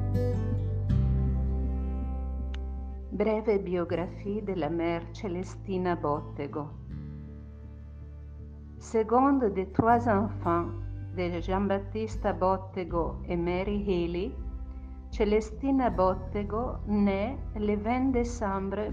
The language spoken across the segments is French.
Breve biographie de la mère Celestina Bottego. Seconde des trois enfants de Giambattista Bottego et Mary Healy, Celestina Bottego naît le 20 décembre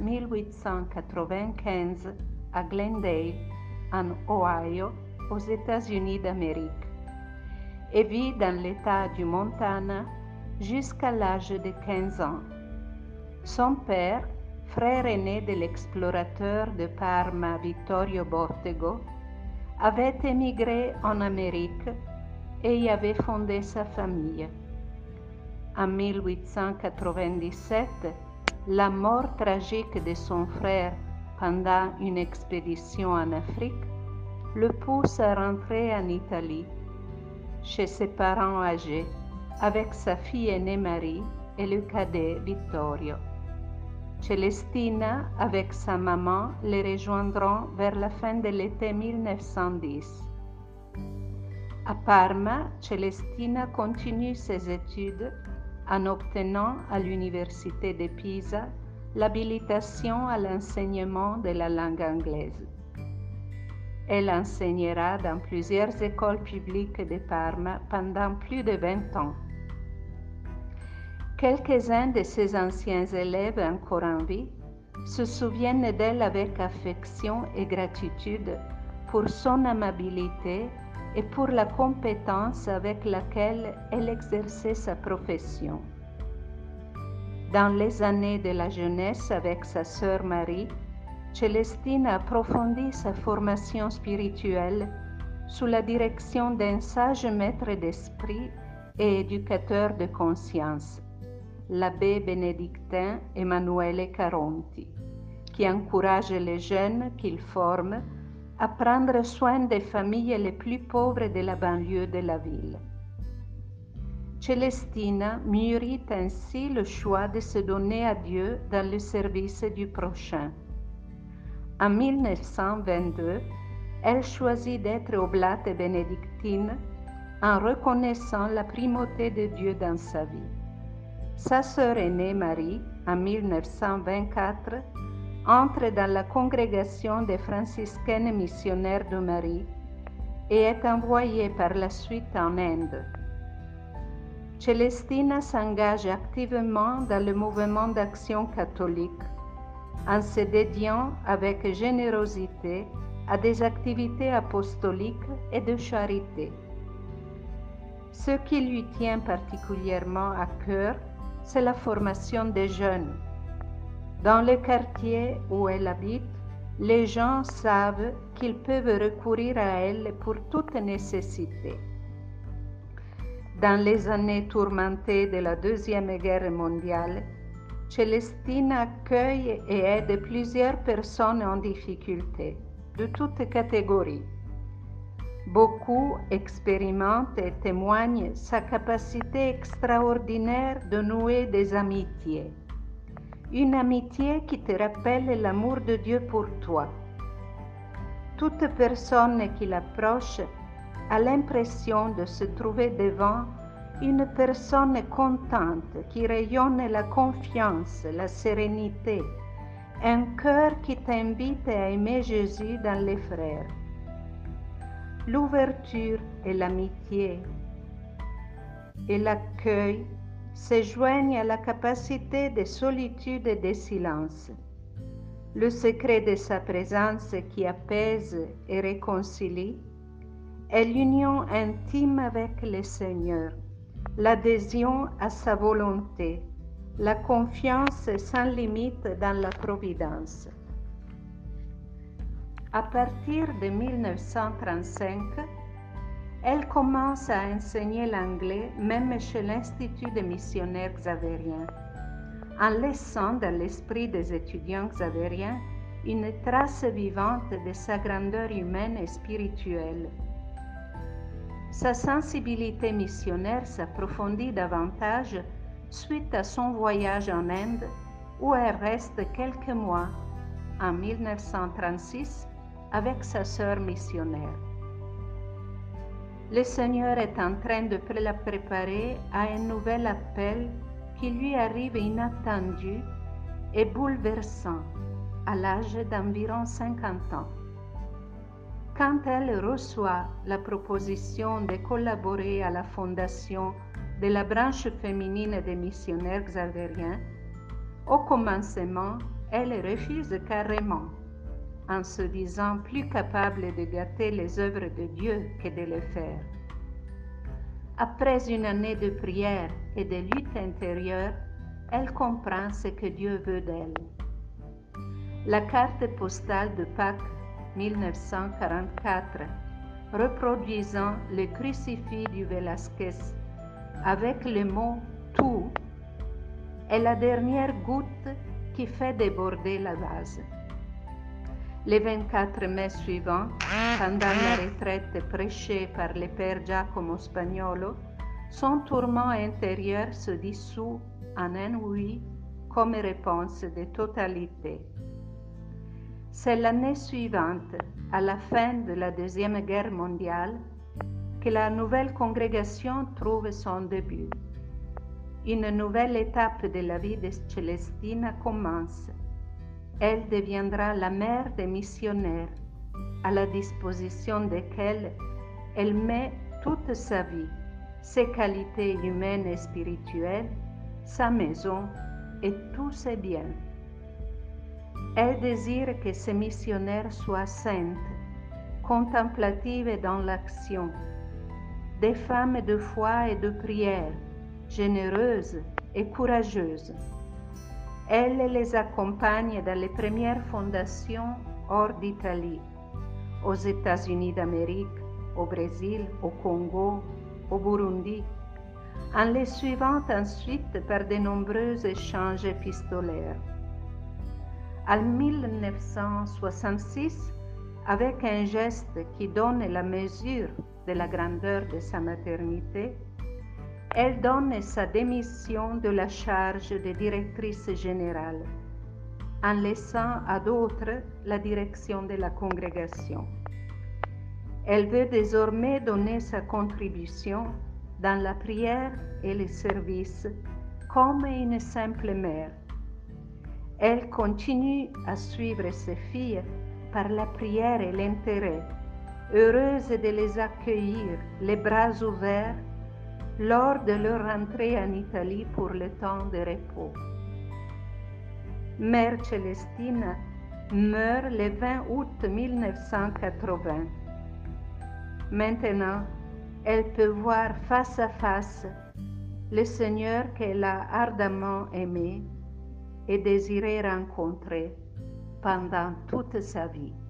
1895 à Glendale, en Ohio, aux États-Unis d'Amérique, et vit dans l'État du Montana jusqu'à l'âge de 15 ans. Son père, frère aîné de l'explorateur de Parma Vittorio Bottego, avait émigré en Amérique et y avait fondé sa famille. En 1897, la mort tragique de son frère pendant une expédition en Afrique le pousse à rentrer en Italie, chez ses parents âgés, avec sa fille aînée Marie et le cadet Vittorio. Celestina, avec sa maman, les rejoindront vers la fin de l'été 1910. À Parma, Celestina continue ses études en obtenant à l'université de Pisa l'habilitation à l'enseignement de la langue anglaise. Elle enseignera dans plusieurs écoles publiques de Parma pendant plus de 20 ans. Quelques-uns de ses anciens élèves encore en vie se souviennent d'elle avec affection et gratitude pour son amabilité et pour la compétence avec laquelle elle exerçait sa profession. Dans les années de la jeunesse avec sa sœur Marie, Celestina approfondit sa formation spirituelle sous la direction d'un sage maître d'esprit et éducateur de conscience, l'abbé bénédictin Emanuele Caronti, qui encourage les jeunes qu'il forme à prendre soin des familles les plus pauvres de la banlieue de la ville. Celestina mûrit ainsi le choix de se donner à Dieu dans le service du prochain. En 1922, elle choisit d'être oblate bénédictine en reconnaissant la primauté de Dieu dans sa vie. Sa sœur aînée Marie, en 1924, entre dans la congrégation des franciscaines missionnaires de Marie et est envoyée par la suite en Inde. Celestina s'engage activement dans le mouvement d'action catholique en se dédiant avec générosité à des activités apostoliques et de charité. Ce qui lui tient particulièrement à cœur, c'est la formation des jeunes. Dans le quartier où elle habite, les gens savent qu'ils peuvent recourir à elle pour toute nécessité. Dans les années tourmentées de la Deuxième Guerre mondiale, Celestina accueille et aide plusieurs personnes en difficulté, de toutes catégories. Beaucoup expérimentent et témoignent sa capacité extraordinaire de nouer des amitiés. Une amitié qui te rappelle l'amour de Dieu pour toi. Toute personne qui l'approche a l'impression de se trouver devant une personne contente qui rayonne la confiance, la sérénité, un cœur qui t'invite à aimer Jésus dans les frères. L'ouverture et l'amitié et l'accueil se joignent à la capacité de solitude et de silence. Le secret de sa présence qui apaise et réconcilie est l'union intime avec le Seigneur, l'adhésion à sa volonté, la confiance sans limite dans la providence. À partir de 1935, elle commence à enseigner l'anglais même chez l'Institut des missionnaires xavériens, en laissant dans l'esprit des étudiants xavériens une trace vivante de sa grandeur humaine et spirituelle. Sa sensibilité missionnaire s'approfondit davantage suite à son voyage en Inde, où elle reste quelques mois, en 1936, avec sa sœur missionnaire. Le Seigneur est en train de la préparer à un nouvel appel qui lui arrive inattendu et bouleversant à l'âge d'environ 50 ans. Quand elle reçoit la proposition de collaborer à la fondation de la branche féminine des missionnaires xavériens, au commencement, elle refuse carrément, en se disant plus capable de gâter les œuvres de Dieu que de le faire. Après une année de prière et de lutte intérieure, elle comprend ce que Dieu veut d'elle. La carte postale de Pâques 1944, reproduisant le crucifix du Velázquez avec le mot « tout », est la dernière goutte qui fait déborder la vase. Les 24 mai suivants, pendant la retraite prêchée par le père Giacomo Spagnolo, son tourment intérieur se dissout en un oui comme réponse de totalité. C'est l'année suivante, à la fin de la Deuxième Guerre mondiale, que la nouvelle congrégation trouve son début. Une nouvelle étape de la vie de Célestina commence. Elle deviendra la mère des missionnaires, à la disposition desquels elle met toute sa vie, ses qualités humaines et spirituelles, sa maison et tous ses biens. Elle désire que ces missionnaires soient saintes, contemplatives dans l'action, des femmes de foi et de prière, généreuses et courageuses. Elle les accompagne dans les premières fondations hors d'Italie, aux États-Unis d'Amérique, au Brésil, au Congo, au Burundi, en les suivant ensuite par de nombreux échanges épistolaires. En 1966, avec un geste qui donne la mesure de la grandeur de sa maternité, elle donne sa démission de la charge de directrice générale, en laissant à d'autres la direction de la congrégation. Elle veut désormais donner sa contribution dans la prière et le service comme une simple mère. Elle continue à suivre ses filles par la prière et l'intérêt, heureuse de les accueillir les bras ouverts lors de leur rentrée en Italie pour le temps de repos. Mère Célestina meurt le 20 août 1980. Maintenant, elle peut voir face à face le Seigneur qu'elle a ardemment aimé et désiré rencontrer pendant toute sa vie.